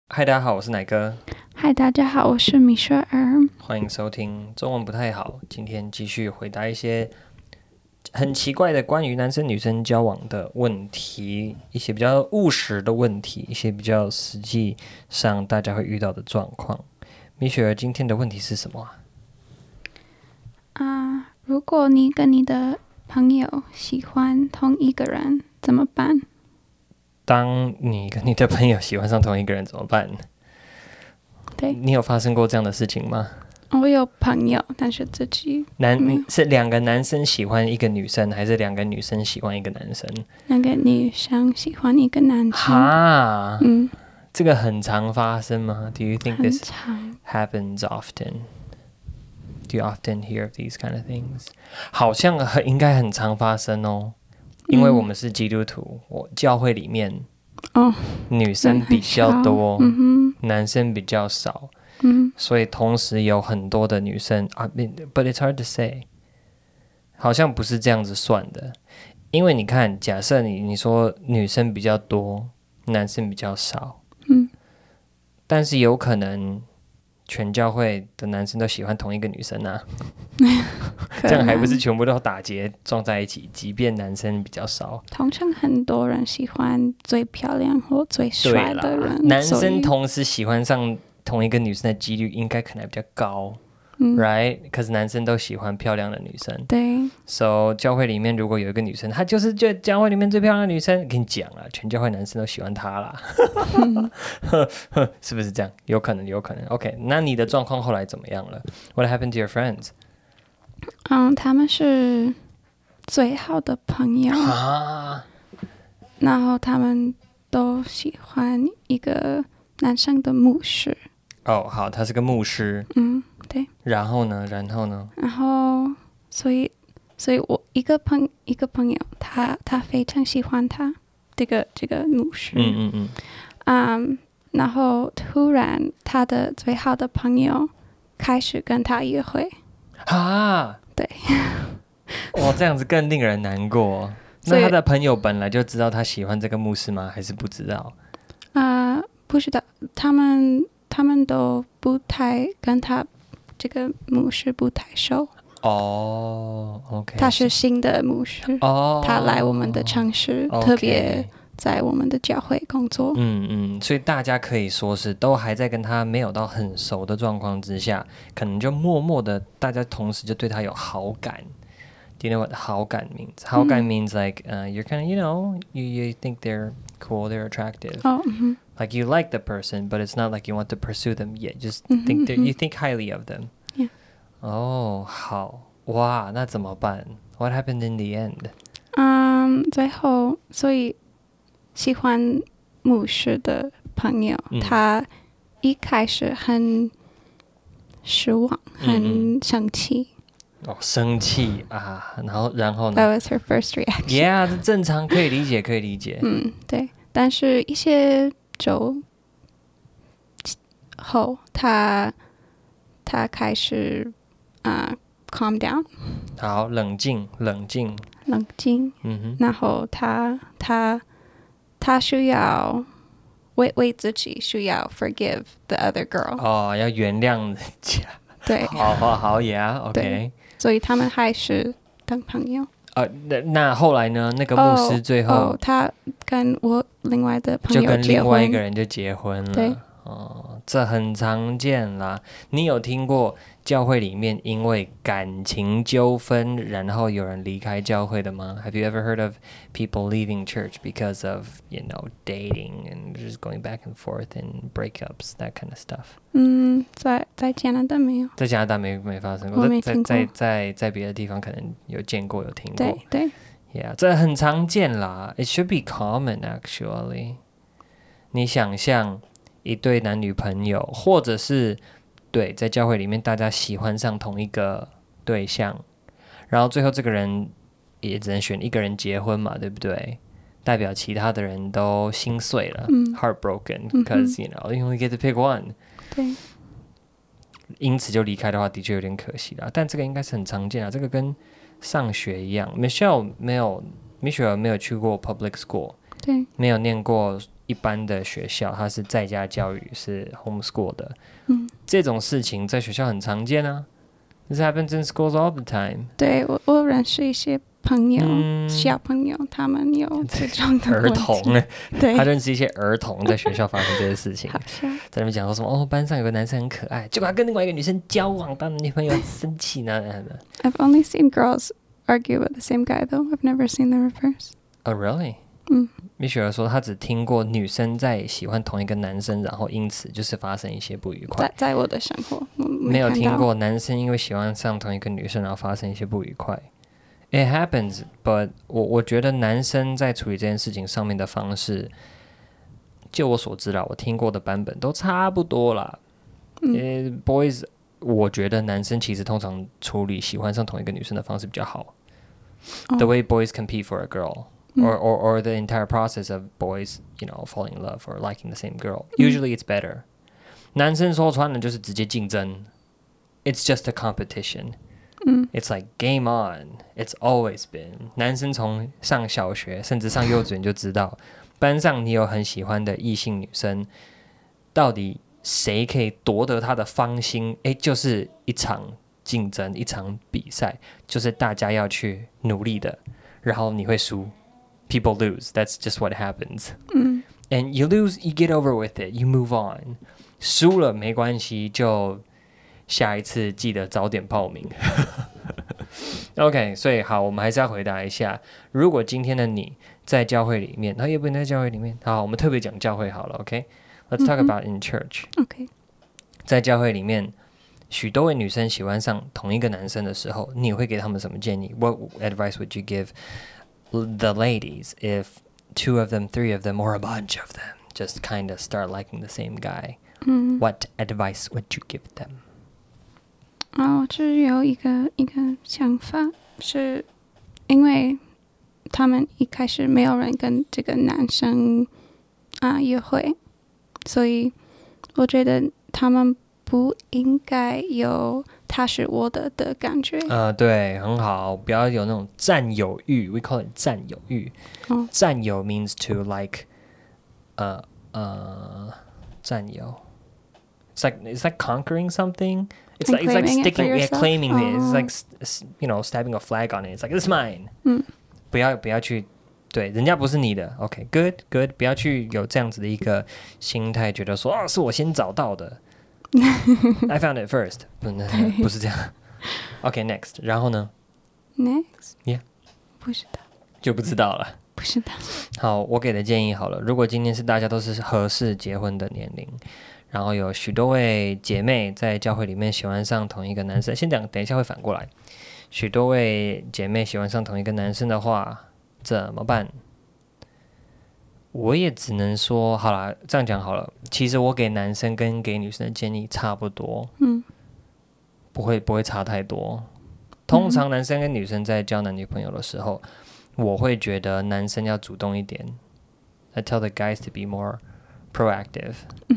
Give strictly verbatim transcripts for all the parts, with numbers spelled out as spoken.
嗨，大家好，我是奶哥。 嗨，大家好，我是米雪兒。 歡迎收聽中文不太好。今天繼續回答一些很奇怪的關於男生女生交往的問題，一些比較務實的問題，一些比較實際上大家會遇到的狀況。米雪兒，今天的問題是什麼啊？ 啊，如果你跟你的朋友喜歡同一個人，怎麼辦？當你跟你的朋友喜歡上同一個人怎麼辦？ 對， 你有發生過這樣的事情嗎？ 我有朋友，但是自己男是兩個男生喜歡一個女生，還是兩個女生喜歡一個男生？ 兩個女生喜歡一個男生。 哈， 嗯， 這個很常發生嗎？ Do you think this happens often? Do you often hear of these kind of things? 好像很應該很常發生哦。因為我們是基督徒，我教會裡面哦， 女生比較多， 嗯、 男生比較少， 嗯， 所以同時有很多的女生啊 ，but it's hard to say， 好像不是這樣子算的，因為你看，假設你你說女生比較多，男生比較少， 嗯， 但是有可能全教會的男生都喜歡同一個女生啊。這樣還不是全部都打結撞在一起，即便男生比較少。 通常很多人喜歡最漂亮或最帥的人， 男生同時喜歡上同一個女生的幾率應該可能比較高，嗯，right？ 可是男生都喜歡漂亮的女生， 對。 So 教會裡面如果有一個女生，她就是就教會裡面最漂亮的女生，跟你講了，全教會男生都喜歡她啦，嗯、是不是這樣？有可能，有可能。OK， 那你的狀況後來怎麼樣了 ？What happened to your friends？ 嗯，他們是最好的朋友， 啊， 然後他們都喜歡一個男生的牧師。 哦，好，他是個牧師。 嗯，對。 然後呢？然後呢？ 然後，所以，所以我一個朋一個朋友，他他非常喜歡他這個這個牧師。 嗯嗯嗯。 嗯，然後突然他的最好的朋友開始跟他約會。 啊， 對， 哇，這樣子更令人難過。那他的朋友本來就知道他喜歡這個牧師嗎？還是不知道？ 啊、呃，不知道，他們他們都不太跟他這個牧師不太熟。 哦、oh, ，OK， 他是新的牧師，哦、oh, 他來我們的城市，okay. 特別在我們的教會工作。 嗯嗯，所以大家可以說是都還在跟他沒有到很熟的狀況之下，可能就默默的大家同時就對他有好感。Do you know what 好感 means? 好感 means like、uh, you're kind of, you know, you, you think they're cool, they're attractive. Oh, mm-hmm. Like you like the person, but it's not like you want to pursue them yet. Just think that you think highly of them. Yeah. 哦，好哇，那怎麼辦 ？What happened in the end? 嗯，最後，所以喜歡牧師的朋友，嗯、他一開始很失望，很生氣。 嗯嗯哦，生氣啊，然後然後呢 ？That was her first reaction. Yeah， 這正常，可以理解，可以理解。 嗯，對。但是一些週後，他他開始啊、uh, calm down。 好，冷靜，冷靜， 冷靜。嗯哼。然後他他他需要為為自己需要 forgive the other girl。 哦，要原諒人家。 對。 好好好，Yeah，OK。 所以他們還是當朋友。 呃，那那後來呢？那個牧師最後， 哦哦、他跟我另外的朋友結婚， 就跟另外一個人就結婚了。 對， 哦，這很常見啦。你有聽過教會裡面因為感情糾紛，然後有人離開教會的嗎？ Have you ever heard of people leaving church because of, you know, dating and just going back and forth and breakups, that kind of stuff? 嗯，在在加拿大沒有， 在加拿大沒沒發生過， 我沒聽過。 在在在在別的地方可能有見過有聽過。 對對 ，Yeah， 這很常見啦。It should be common actually。你想象一對男女朋友，或者是對在教會裡面大家喜歡上同一個對象，然後最後這個人也只能選一個人結婚嘛，對不對？代表其他的人都心碎了，嗯，heartbroken because、嗯、you know you only get to pick one。 對， 因此就離開的話，的確有點可惜啦。但這個應該是很常見啊，這個跟上學一樣。Michelle 沒有 ，Michelle 沒有去過 public school， 對，沒有念過一般的學校，它是在家教育，是 homeschool 的， 嗯， 這種事情在學校很常見啊。This happens in schools all the time。 對，我我認識一些朋友， 嗯、 小朋友，他們有這種的問題。 兒童， 對， 他認識一些兒童在學校發生這些事情，在那邊講說什麼哦，班上有個男生很可愛，結果他跟另外一個女生交往，當女朋友很生氣呢。 I've only seen girls argue about the same guy, though. I've never seen the reverse. Oh, really? 嗯， 米雪兒說，她只聽過女生在喜歡同一個男生，然後因此就是發生一些不愉快。 在在我的生活， 沒有聽過男生因為喜歡上同一個女生，然後發生一些不愉快。It happens, but 我我覺得男生在處理這件事情上面的方式，就我所知啦，我聽過的版本都差不多啦。嗯，uh, boys，我覺得男生其實通常處理喜歡上同一個女生的方式比較好。Oh. The way boys compete for a girl. Or, or, or the entire process of boys, you know, falling in love or liking the same girl. Usually it's better. 男生說穿了就是直接競爭。It's just a competition. It's like game on. It's always been. 男生從上小學甚至上幼稚園就知道，班上你有很喜歡的異性女生，到底誰可以奪得她的芳心？誒，就是一場競爭，一場比賽，就是大家要去努力的，然後你會輸。People lose. That's just what happens. 嗯 And you lose, you get over with it. You move on. 輸了沒關係，就下一次記得早點報名。OK， 所以好，我們還是要回答一下，如果今天的你在教會裡面，那也不能在教會裡面。好，我們特別講教會好了。OK，Let's talk about in church. OK， 在教會裡面，許多位女生喜歡上同一個男生的時候，你會給他們什麼建議？ What advice would you give the ladies if two of them, three of them, or a bunch of them just kind of start liking the same guy? 嗯 What advice would you give them? 哦，只有一個一個想法，是因為他們一開始沒有人跟這個男生啊約會，所以我覺得他們不應該有他是我的的感覺。 呃，對，很好，不要有那種佔有欲。We call it 佔有欲。 哦， 佔有 means to like，呃呃，佔有。It's like it's like conquering something. It's like it's like sticking, yeah, claiming it. It's like you know, stabbing a flag on it. It's like it's mine. 嗯， 不要不要去，對，人家不是你的。OK, good, good. 不要去有這樣子的一個心態，覺得說啊，是我先找到的。I found it first. 不，不是這樣。OK, next. 然後呢 ？Next. Yeah. 不知道。 就不知道了。 不知道。 好，我給的建議好了。如果今天是大家都是合適結婚的年齡，然後有許多位姐妹在教會裡面喜歡上同一個男生，先講，等一下會反過來。許多位姐妹喜歡上同一個男生的話，怎麼辦？我也只能說，好啦，這樣講好了。其實我給男生跟給女生的建議差不多， 嗯， 不會不會差太多。通常男生跟女生在交男女朋友的時候，嗯、我會覺得男生要主動一點。I tell the guys to be more proactive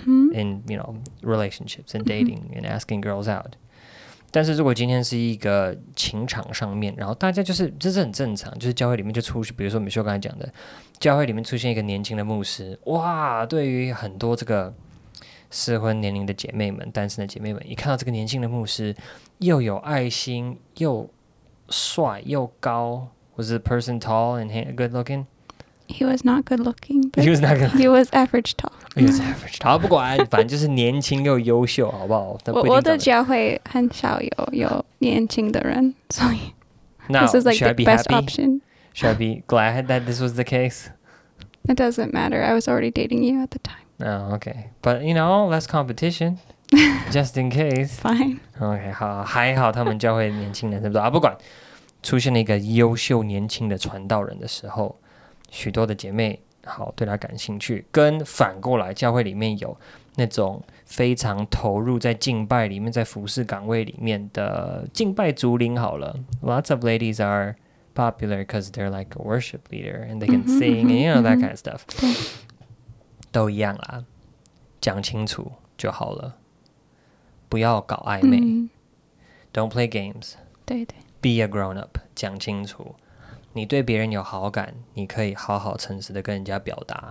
in, you know, relationships and dating and asking girls out. 但是如果今天是一個情場上面，然後大家就是這是很正常，就是教會裡面就出，比如說米修剛才講的，教會裡面出現一個年輕的牧師，哇，對於很多這個適婚年齡的姐妹們、單身的姐妹們，一看到這個年輕的牧師，又有愛心，又帥又高，Was the person tall and good looking? He was not good looking. But he was not good. He was average tall. He was average tall. 好，不管，反正就是年輕又優秀，好不好？ 我我的教會很少有有年輕的人，所以 Now, this is like should the I be best happy? option. Should I be glad that this was the case? It doesn't matter. I was already dating you at the time. Oh, okay. But you know, less competition, just in case. Fine. OK， 好，還好他們教會年輕男生不啊，不管出現了一個優秀年輕的傳道人的時候。許多的姐妹好對他感興趣，跟反過來教會裡面有那種非常投入在敬拜裡面，在服事崗位裡面的敬拜族靈好了。Lots of ladies are popular because they're like a worship leader and they can sing and you know that kind of stuff. 都一樣啦，講清楚就好了，不要搞曖昧。嗯、Don't play games. 對對。 Be a grown up. 講清楚。你對別人有好感，你可以好好誠實的跟人家表達，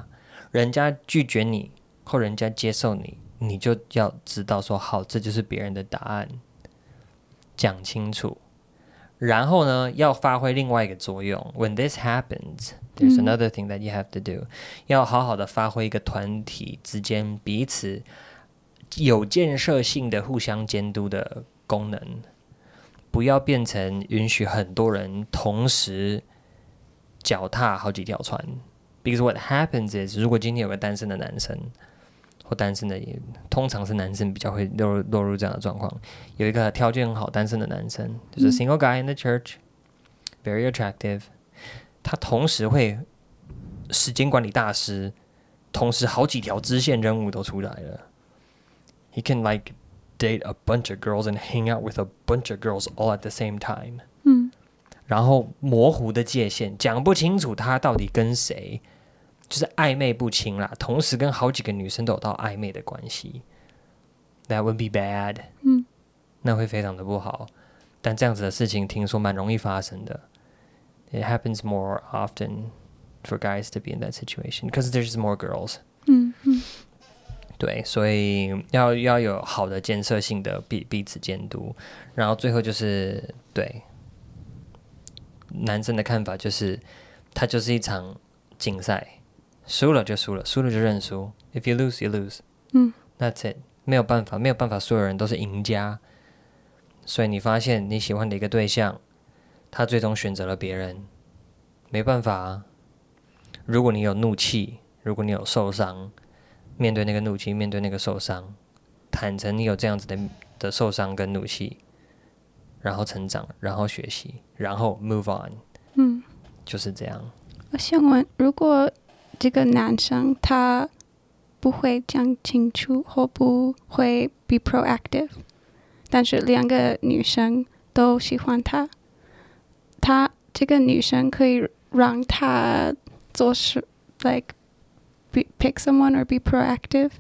人家拒絕你或人家接受你，你就要知道說好，這就是別人的答案，講清楚。然後呢，要發揮另外一個作用。When this happens, there's another thing that you have to do、嗯、要好好的發揮一個團體之間彼此有建設性的互相監督的功能，不要變成允許很多人同時腳踏好幾條船。Because what happens is， 如果今天有個單身的男生或單身的，通常是男生比較會落入落入這樣的狀況。有一個條件很好單身的男生，就是 single guy in the church， very attractive。他同時會時間管理大師，同時好幾條支線任務都出來了。He can like date a bunch of girls and hang out with a bunch of girls all at the same time。嗯。然後模糊的界限，講不清楚他到底跟誰。就是曖昧不清啦，同時跟好幾個女生都有到曖昧的關係 ，That would be bad，嗯，那會非常的不好。但這樣子的事情聽說蠻容易發生的 ，It happens more often for guys to be in that situation because there's more girls。嗯嗯，對，所以要要有好的建設性的彼彼此監督，然後最後就是對男生的看法就是，它就是一場競賽。輸了就輸了，輸了就認輸。If you lose, you lose. 嗯 That's it. 沒有辦法，沒有辦法，所有人都是贏家。所以你發現你喜歡的一個對象，他最終選擇了別人，沒辦法啊。如果你有怒氣，如果你有受傷，面對那個怒氣，面對那個受傷，坦誠你有這樣子的的受傷跟怒氣，然後成長，然後學習，然後 move on。嗯，就是這樣。 我想問，如果這個男生他不會講清楚或不會 be proactive， 但是兩個女生都喜歡他，他這個女生可以讓他做事 like be, pick someone or be proactive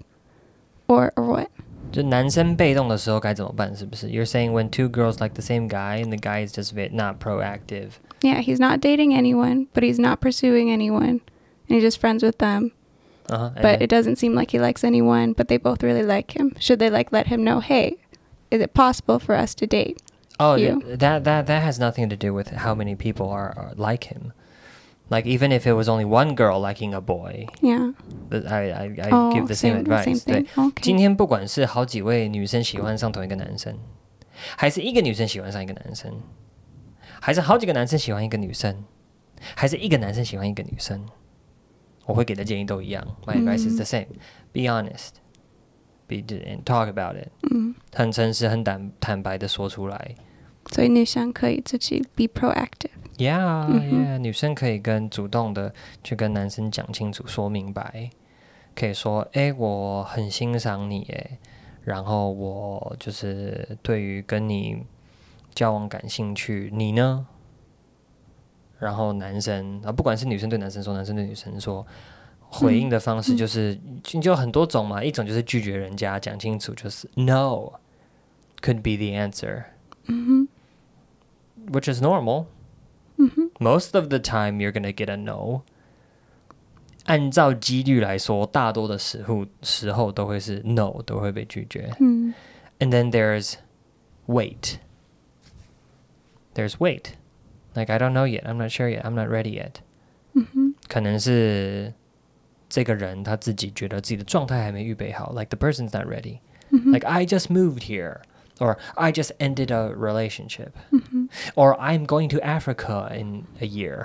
or, or what？ 就男生被動的時候該怎麼辦？是不是 You're saying when two girls like the same guy and the guy is just not proactive? Yeah, he's not dating anyone, but he's not pursuing anyone.And he's just friends with them. Uh-huh, but it doesn't seem like he likes anyone, but they both really like him. Should they like let him know, hey, is it possible for us to date oh, you? that, that, that has nothing to do with how many people are, are like him. Like, even if it was only one girl liking a boy, yeah. I, I, I oh, give the same, same advice. Same thing. 對 Okay. 今天不管是好幾位女生喜歡上同一個男生，還是一個女生喜歡上一個男生，還是好幾個男生喜歡一個女生，還是一個男生喜歡一個女生，我會給的建議都一樣。My advice is the same. Be honest. Be and talk about it. 嗯，很誠實、很坦坦白的說出來。 所以女生可以自己 be proactive. Yeah, yeah. 女生可以跟主動的去跟男生講清楚、說明白。可以說：“哎，我很欣賞你，哎，然後我就是對於跟你交往感興趣，你呢？”然後男生啊，不管是女生對男生說，男生對女生說，回應的方式就是、嗯、就很多種嘛。一種就是拒絕人家，講清楚就是 No could be the answer、嗯、which is normal、嗯、most of the time you're gonna get a no。 按照幾率來說，大多的時候時候都會是 no， 都會被拒絕、嗯、and then there's wait there's wait Like, I don't know yet. I'm not sure yet. I'm not ready yet. 嗯、可能是這個人他自己覺得自己的狀態還沒預備好。Like, the person's not ready. 嗯、like, I just moved here. Or, I just ended a relationship. 嗯、Or, I'm going to Africa in a year.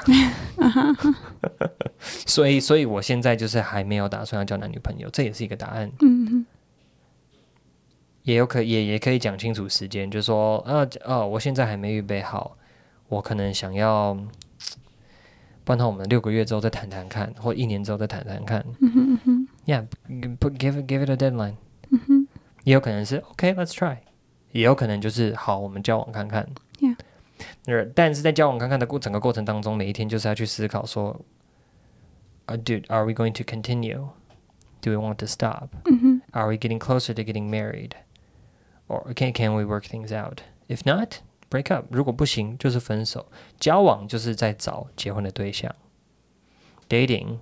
所以，所以我現在就是還沒有打算要交男女朋友。這也是一個答案。嗯、也有可也也可以講清楚時間，就是說，啊，哦，我現在還沒預備好。我可能想要，不然我們六個月之後再談談看，或一年之後再談談看。嗯嗯、yeah, put, give it, give it a deadline、嗯。也有可能是 OK, let's try。也有可能就是好，我們交往看看。Yeah. 但是在交往看看的過整個過程當中，每一天就是要去思考說、uh, Dude, are we going to continue? Do we want to stop?、嗯、Are we getting closer to getting married? Or can, can we work things out? If not,Break up， 如果不行就是分手。交往就是在找結婚的對象。Dating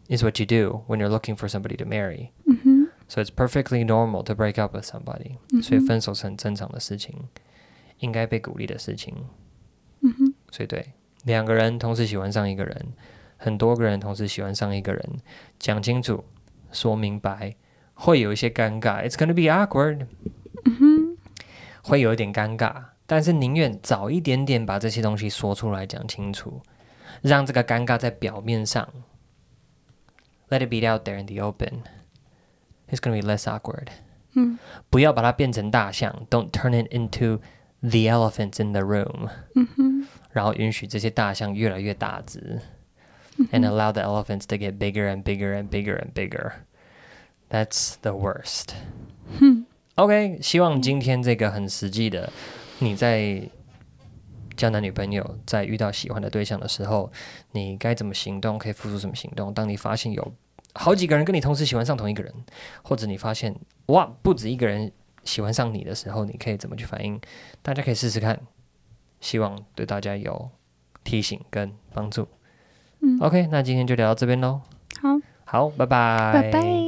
is what you do when you're looking for somebody to marry. Mm-hmm. So it's perfectly normal to break up with somebody. Mm-hmm. 所以分手是很正常的事情，应該被鼓勵的事情。 Mm-hmm. 所以對，兩個人同時喜歡上一個人，很多個人同時喜歡上一個人，講清楚，說明白，會有一些尷尬。It's gonna be awkward. Mm-hmm. 會有一點尷尬，但是寧願早一點點把這些東西說出來講清楚，讓這個尷尬在表面上。Let it be out there in the open. It's gonna be less awkward. 嗯， 不要把它變成大象 Don't turn it into the elephant in the room. 嗯哼， 然後允許這些大象越來越大隻。 嗯哼 And allow the elephants to get bigger and bigger and bigger and bigger. That's the worst. 嗯 OK, 希望今天這個很實際的，你在交男女朋友，在遇到喜歡的對象的時候，你該怎麼行動，可以付出什麼行動。當你發現有好幾個人跟你同時喜歡上同一個人，或者你發現哇不止一個人喜歡上你的時候，你可以怎麼去反應？大家可以試試看，希望對大家有提醒跟幫助。嗯、OK, 那今天就聊到這邊嘍。 好， 好，拜拜， 拜拜。